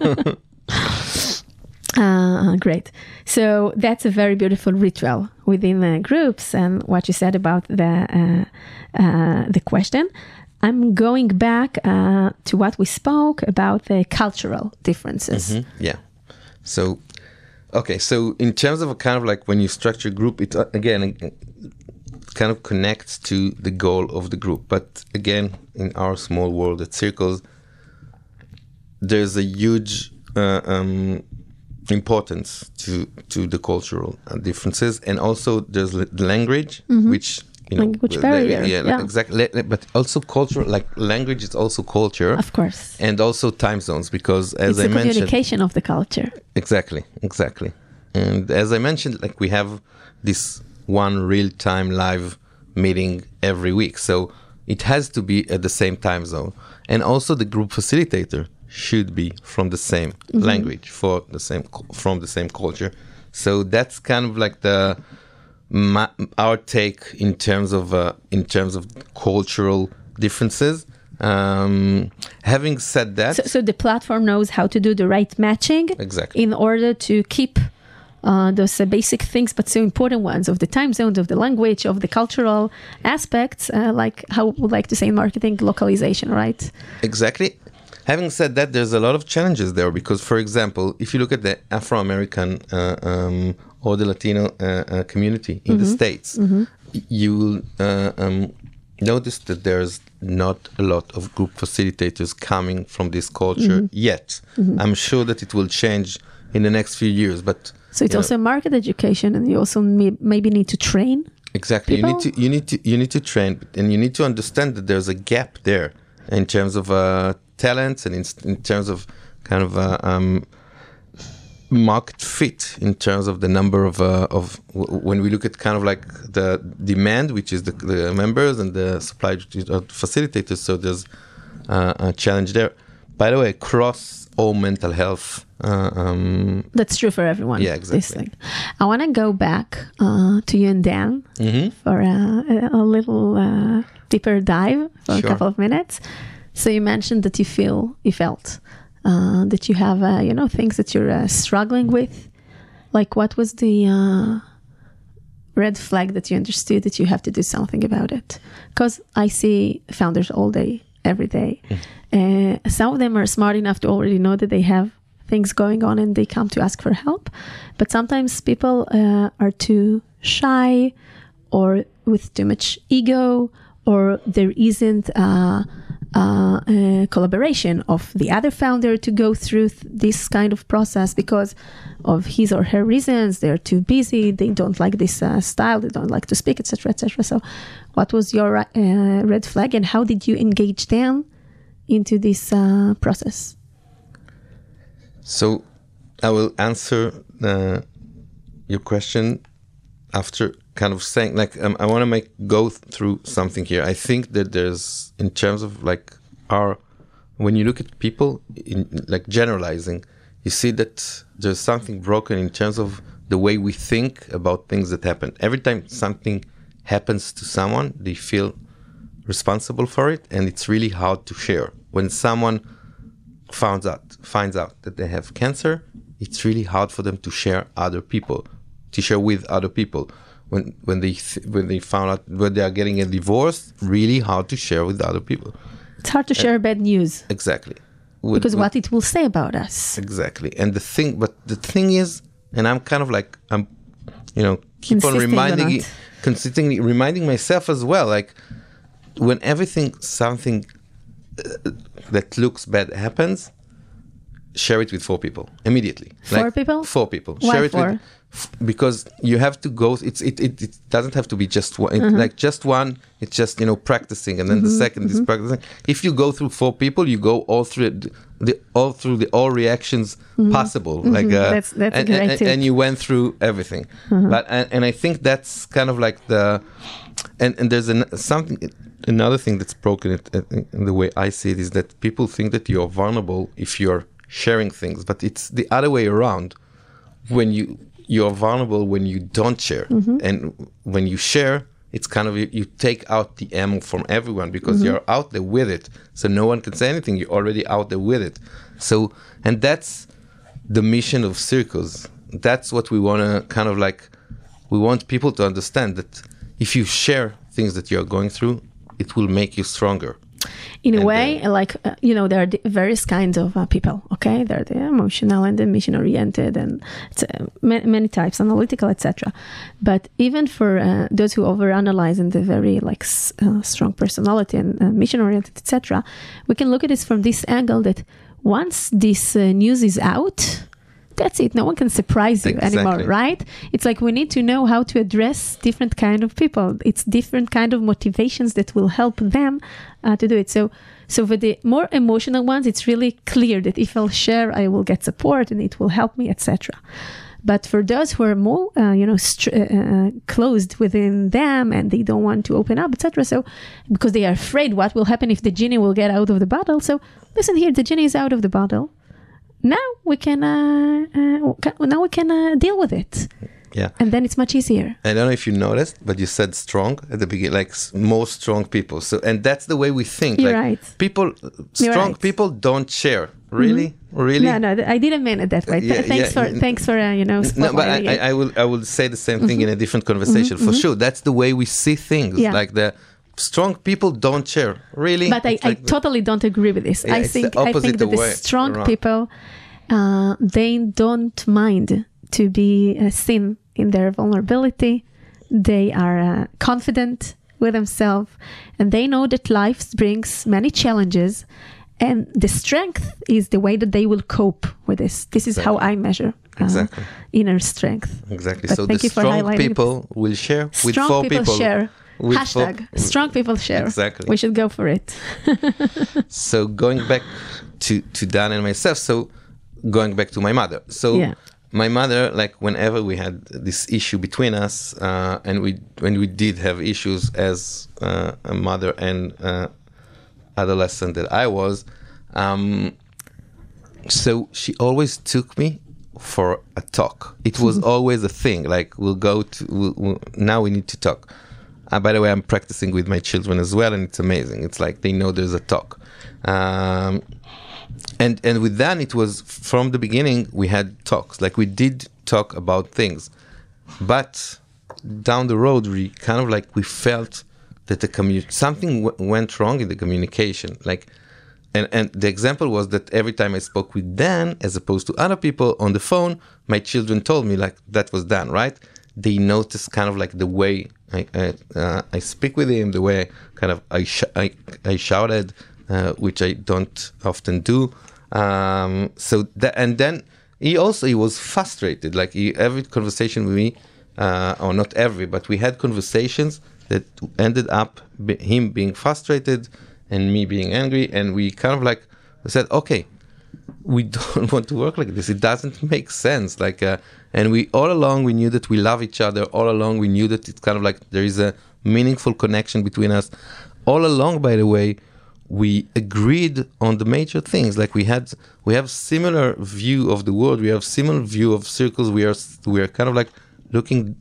Great. So that's a very beautiful ritual within groups. And what you said about the question, I'm going back to what we spoke about the cultural differences. Yeah. So, okay. So in terms of a kind of like when you structure a group, it again kind of connects to the goal of the group. But again, in our small world at Circles, there's a huge importance to the cultural differences, and also there's the language, which language barrier. Yeah, exactly. But also culture, like language is also culture, of course, and also time zones, because as I mentioned, it's the communication of the culture. Exactly. And as I mentioned, like we have this one real-time live meeting every week. So it has to be at the same time zone. And also the group facilitator should be from the same language, from the same culture. So that's kind of like our take in terms of cultural differences. Having said that, so the platform knows how to do the right matching, exactly, in order to keep those basic things, but so important ones, of the time zones, of the language, of the cultural aspects, like how we would like to say in marketing, localization, right? Exactly. Having said that, there's a lot of challenges there because, for example, if you look at the Afro-American or the Latino community in the States, you will notice that there's not a lot of group facilitators coming from this culture yet. I'm sure that it will change in the next few years, but so it's also market education, and you also maybe need to train. Exactly, people? you need to train, and you need to understand that there's a gap there in terms of talents and in terms of kind of market fit, in terms of the number of when we look at kind of like the demand, which is the members, and the supply of facilitators. So there's a challenge there. By the way, across all mental health. That's true for everyone. Yeah, exactly. I want to go back to you and Dan for a little deeper dive for a couple of minutes. So you mentioned that you felt that you have, things that you're struggling with. Like, what was the red flag that you understood that you have to do something about it? Because I see founders all day, every day. Some of them are smart enough to already know that they have things going on and they come to ask for help. But sometimes people are too shy, or with too much ego, or there isn't collaboration of the other founder to go through this kind of process because of his or her reasons. They're too busy, they don't like this style, they don't like to speak, etc., etc. So what was your red flag, and how did you engage them into this process? So I will answer your question after kind of saying, like, I want to go through something here. I think that there's, in terms of like when you look at people, like generalizing, you see that there's something broken in terms of the way we think about things that happen. Every time something happens to someone, they feel responsible for it, and it's really hard to share. When someone finds out that they have cancer, it's really hard for them to share with other people. When they found out when they are getting a divorce, really hard to share with other people. It's hard to share bad news. Exactly. Because what it will say about us. Exactly. And the thing is, and I'm kind of like, keep on consistently reminding myself as well, like, when something that looks bad happens, share it with 4 people immediately. 4 people? 4 people. Why share it 4? Because you have to go. It doesn't have to be just one. Like just one. It's just practicing, and then the second is practicing. If you go through 4 people, you go all through all reactions possible. Like that's a great tip. And you went through everything. But and I think that's kind of like and there's another thing that's broken in the way I see it, is that people think that you're vulnerable if you're sharing things, but it's the other way around. When you're vulnerable when you don't share, and when you share, it's kind of you take out the ammo from everyone, because you're out there with it, so no one can say anything. You're already out there with it. So, and that's the mission of Circles. That's what we want to kind of like. We want people to understand that if you share things that you're going through, it will make you stronger. In a way, there are various kinds of people, okay? There are the emotional and the mission-oriented, and many types, analytical, etc. But even for those who overanalyze and the very strong personality and mission-oriented, etc., we can look at this from this angle, that once this news is out, that's it. No one can surprise you anymore, right? It's like we need to know how to address different kind of people. It's different kind of motivations that will help them to do it. So for the more emotional ones, it's really clear that if I'll share, I will get support and it will help me, etc. But for those who are more, closed within them and they don't want to open up, etc. So, because they are afraid what will happen if the genie will get out of the bottle. So, listen here, the genie is out of the bottle. Now we can deal with it. Yeah. And then it's much easier. I don't know if you noticed, but you said strong at the beginning, like most strong people. So, and that's the way we think. You're like right. Strong people don't share. Really? Really? No, I didn't mean it that way. Thanks for no, but I will say the same thing in a different conversation for sure. That's the way we see things. Yeah. Like the strong people don't share. Really? But I totally don't agree with this. Yeah, I think that the strong people they don't mind to be seen in their vulnerability. They are confident with themselves, and they know that life brings many challenges, and the strength is the way that they will cope with this. This is how I measure inner strength. Exactly. But so the strong people will share with four people. Share. Hashtag strong people share. Exactly. We should go for it. So going back to Dan and myself, so going back to my mother. So my mother, like whenever we had this issue between us, and when we did have issues as a mother and adolescent that I was, so she always took me for a talk. It was always a thing. Like now we need to talk. By the way, I'm practicing with my children as well, and it's amazing. It's like they know there's a talk. And with Dan, it was from the beginning, we had talks. Like we did talk about things. But down the road, we kind of like, we felt that something went wrong in the communication. Like, and the example was that every time I spoke with Dan, as opposed to other people on the phone, my children told me like, that was Dan, right? They noticed kind of like the way I speak with him, the way kind of I shouted, which I don't often do. So that, and then he was frustrated. Like every conversation with me, or not every, but we had conversations that ended up him being frustrated and me being angry, and we kind of like said, okay, we don't want to work like this. It doesn't make sense. Like, and we all along we knew that we love each other. All along we knew that it's kind of like there is a meaningful connection between us. All along, by the way, we agreed on the major things. Like we have similar view of the world. We have similar view of circles. We are kind of like looking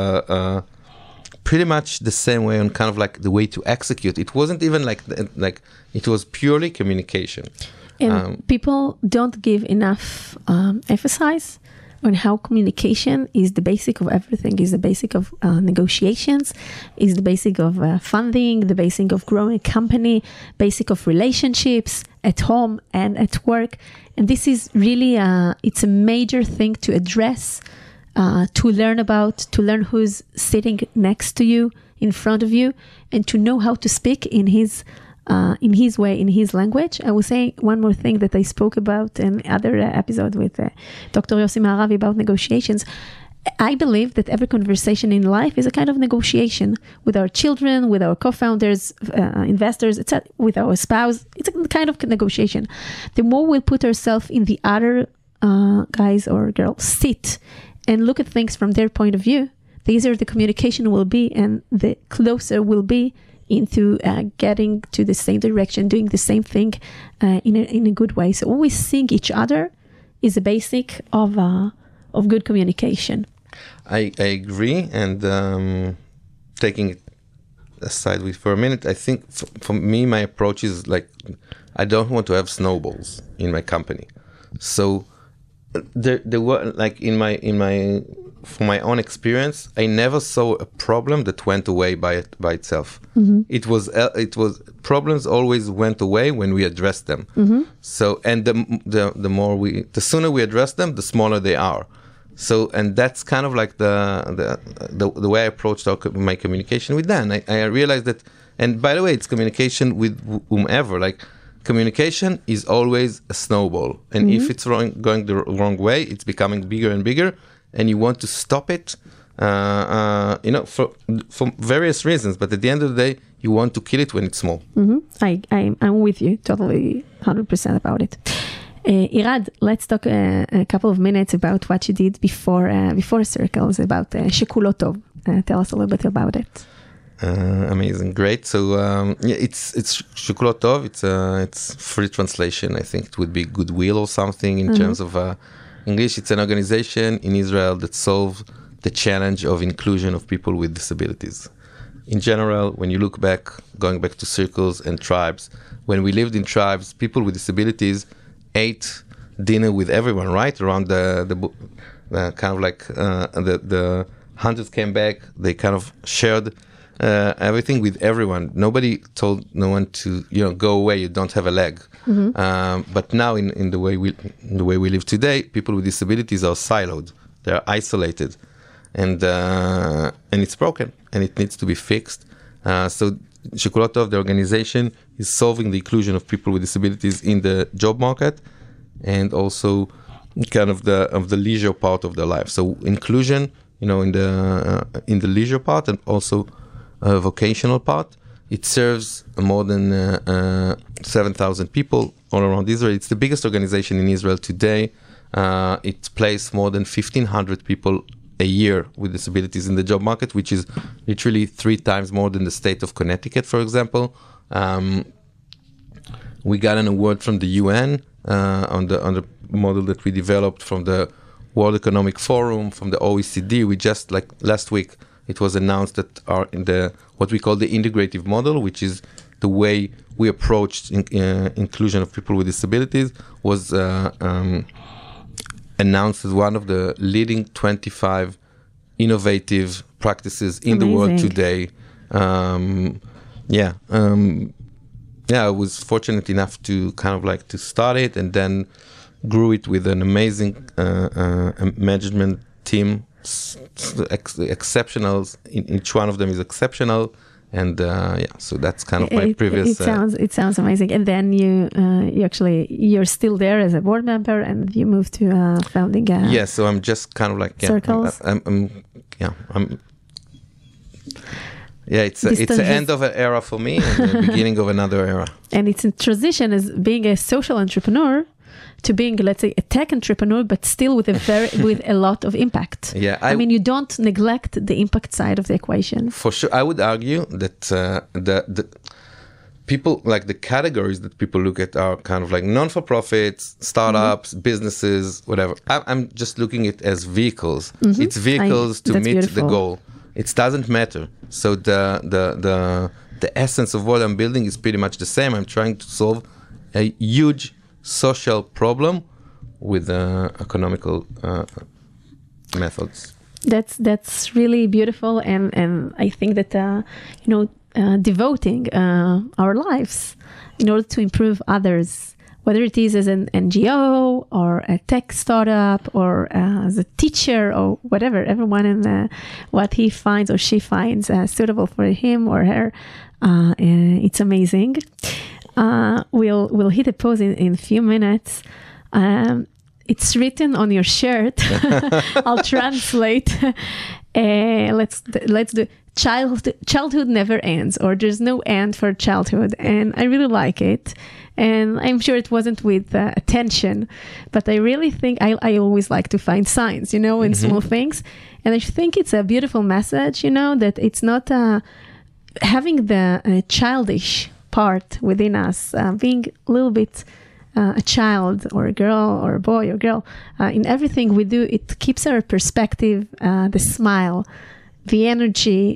pretty much the same way on kind of like the way to execute. It wasn't even like it was purely communication. And people don't give enough emphasis on how communication is the basic of everything, is the basic of negotiations, is the basic of funding, the basic of growing a company, basic of relationships at home and at work. And this is really, it's a major thing to address, to learn who's sitting next to you, in front of you, and to know how to speak in his way, in his language. I will say one more thing that I spoke about in other episode with Dr. Yossi Maravi about negotiations. I believe that every conversation in life is a kind of negotiation with our children, with our co-founders, investors, etc., with our spouse. It's a kind of negotiation. The more we'll put ourselves in the other guys or girls' seat and look at things from their point of view, the easier the communication will be, and the closer we'll be into getting to the same direction, doing the same thing in a good way. So always seeing each other is a basic of good communication. I agree, and taking it aside for a minute, I think for me, my approach is like, I don't want to have snowballs in my company. So there were like from my own experience, I never saw a problem that went away by itself. Mm-hmm. It was problems always went away when we addressed them. Mm-hmm. So, and the sooner we address them, the smaller they are. So, and that's kind of like the way I approached my communication with Dan. I realized that, and by the way, it's communication with whomever. Like, communication is always a snowball, and if it's going the wrong way, it's becoming bigger and bigger. And you want to stop it, for various reasons. But at the end of the day, you want to kill it when it's small. Mm-hmm. I'm with you totally 100% about it. Irad, let's talk a couple of minutes about what you did before Circles, about Shekulo Tov. Tell us a little bit about it. Amazing, great. So it's Shekulo Tov. It's free translation. I think it would be goodwill or something in terms of English. It's an organization in Israel that solves the challenge of inclusion of people with disabilities. In general, when you look back, going back to circles and tribes, when we lived in tribes, people with disabilities ate dinner with everyone, right? Around the kind of like the hunters came back, they kind of shared everything with everyone. Nobody told no one to, go away, you don't have a leg. But now in the way we live today, people with disabilities are siloed. They're isolated. And it's broken, and it needs to be fixed. So Shekulo Tov, the organization, is solving the inclusion of people with disabilities in the job market, and also kind of the leisure part of their life. So inclusion, in the leisure part, and also vocational part. It serves more than 7,000 people all around Israel. It's the biggest organization in Israel today. It places more than 1,500 people a year with disabilities in the job market, which is literally 3 times more than the state of Connecticut, for example. We got an award from the UN on the model that we developed from the World Economic Forum, from the OECD. We just, like last week, it was announced that what we call the integrative model, which is the way we approached inclusion of people with disabilities, was announced as one of the leading 25 innovative practices in the world today. I was fortunate enough to kind of like to start it, and then grew it with an amazing management team, exceptionals. Each one of them is exceptional. And so that's kind of my previous. It sounds amazing. And then you're still there as a board member, and you moved to founding. So I'm just kind of like Circles. It's the end of an era for me and the beginning of another era. And it's in transition as being a social entrepreneur to being, let's say, a tech entrepreneur, but still with a lot of impact. Yeah, I mean, you don't neglect the impact side of the equation. For sure, I would argue that the people, like the categories that people look at, are kind of like non-for-profits, startups, businesses, whatever. I'm just looking at it as vehicles. It's vehicles to meet the goal. It doesn't matter. So the essence of what I'm building is pretty much the same. I'm trying to solve a huge social problem with economical methods. That's really beautiful, and I think that devoting our lives in order to improve others, whether it is as an NGO or a tech startup or as a teacher or whatever, everyone in what he finds or she finds suitable for him or her, it's amazing. We'll hit a pause in a few minutes. It's written on your shirt. I'll translate. Let's do childhood never ends, or there's no end for childhood, and I really like it. And I'm sure it wasn't with attention, but I really think I always like to find signs, in small things, and I think it's a beautiful message, that it's not having the childish part within us, being a little bit a child or a girl or a boy or girl, in everything we do. It keeps our perspective, the smile, the energy,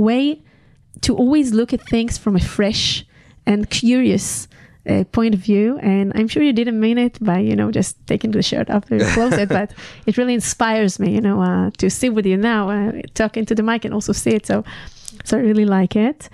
to always look at things from a fresh and curious point of view. And I'm sure you didn't mean it by, just taking the shirt off your closet, but it really inspires me, to sit with you now, talking to the mic and also see it. So I really like it.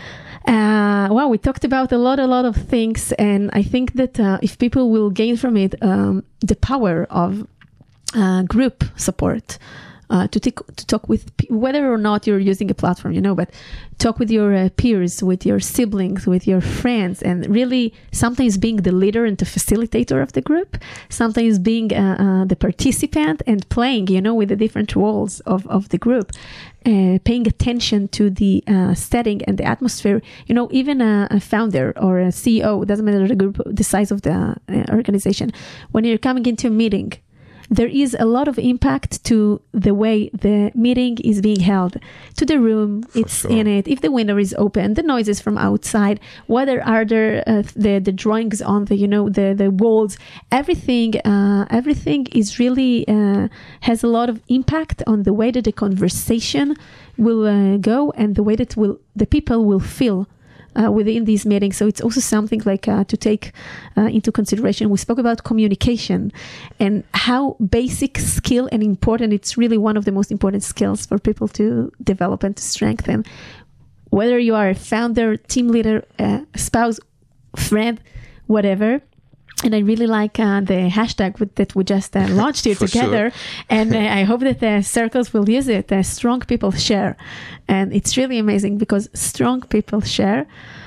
We talked about a lot of things, and I think that if people will gain from it the power of group support, to talk with, whether or not you're using a platform, but talk with your peers, with your siblings, with your friends, and really sometimes being the leader and the facilitator of the group, sometimes being the participant and playing, with the different roles of the group, paying attention to the setting and the atmosphere. Even a founder or a CEO, it doesn't matter the group, the size of the organization, when you're coming into a meeting, there is a lot of impact to the way the meeting is being held, to the room it's in it, if the window is open, the noises from outside, whether are there the drawings on the walls, everything is really has a lot of impact on the way that the conversation will go and the way that the people will feel within these meetings. So it's also something like to take into consideration. We spoke about communication and how basic skill and important. It's really one of the most important skills for people to develop and to strengthen. Whether you are a founder, team leader, spouse, friend, whatever. And I really like the hashtag that we just launched here together. Sure. And I hope that the circles will use it. Strong people share. And it's really amazing because strong people share.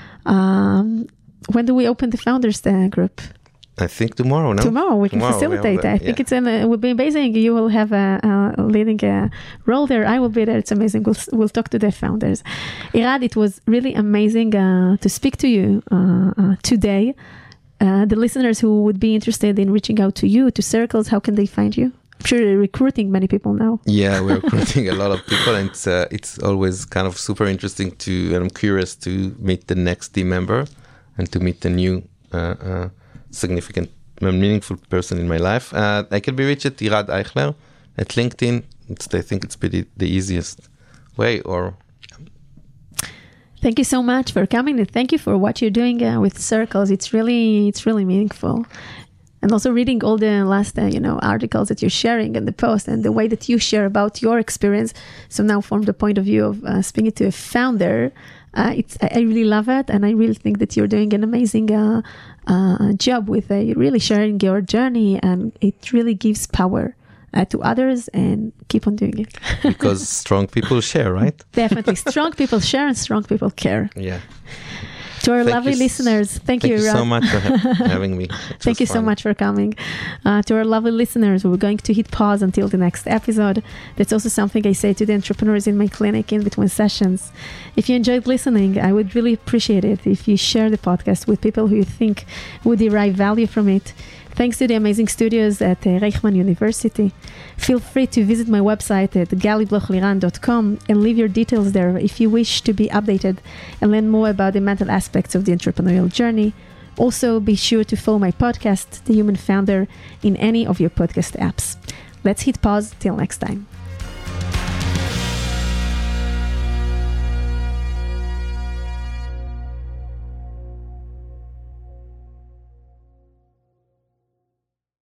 When do we open the founders group? I think tomorrow, no? Tomorrow, we can facilitate. I think it will be amazing. You will have a leading role there. I will be there. It's amazing. We'll talk to the founders. Irad, it was really amazing to speak to you today. The listeners who would be interested in reaching out to you, to Circles, how can they find you? I'm sure you're recruiting many people now. Yeah, we're recruiting a lot of people, and it's always kind of super interesting and I'm curious to meet the next team member and to meet the new significant, meaningful person in my life. I can be reached at Irad Eichler at LinkedIn. I think it's pretty the easiest way. Thank you so much for coming, and thank you for what you're doing with Circles. It's really meaningful. And also reading all the last articles that you're sharing and the post and the way that you share about your experience. So now from the point of view of speaking to a founder, I really love it. And I really think that you're doing an amazing job with really sharing your journey, and it really gives power to others, and keep on doing it. Because strong people share, right? Definitely. Strong people share and strong people care. Yeah. To our lovely listeners, thank you so much for having me. Thank you so much for coming. To our lovely listeners, we're going to hit pause until the next episode. That's also something I say to the entrepreneurs in my clinic in between sessions. If you enjoyed listening, I would really appreciate it if you share the podcast with people who you think would derive value from it. Thanks to the amazing studios at Reichman University. Feel free to visit my website at galiblochliran.com and leave your details there if you wish to be updated and learn more about the mental aspects of the entrepreneurial journey. Also, be sure to follow my podcast, The Human Founder, in any of your podcast apps. Let's hit pause till next time.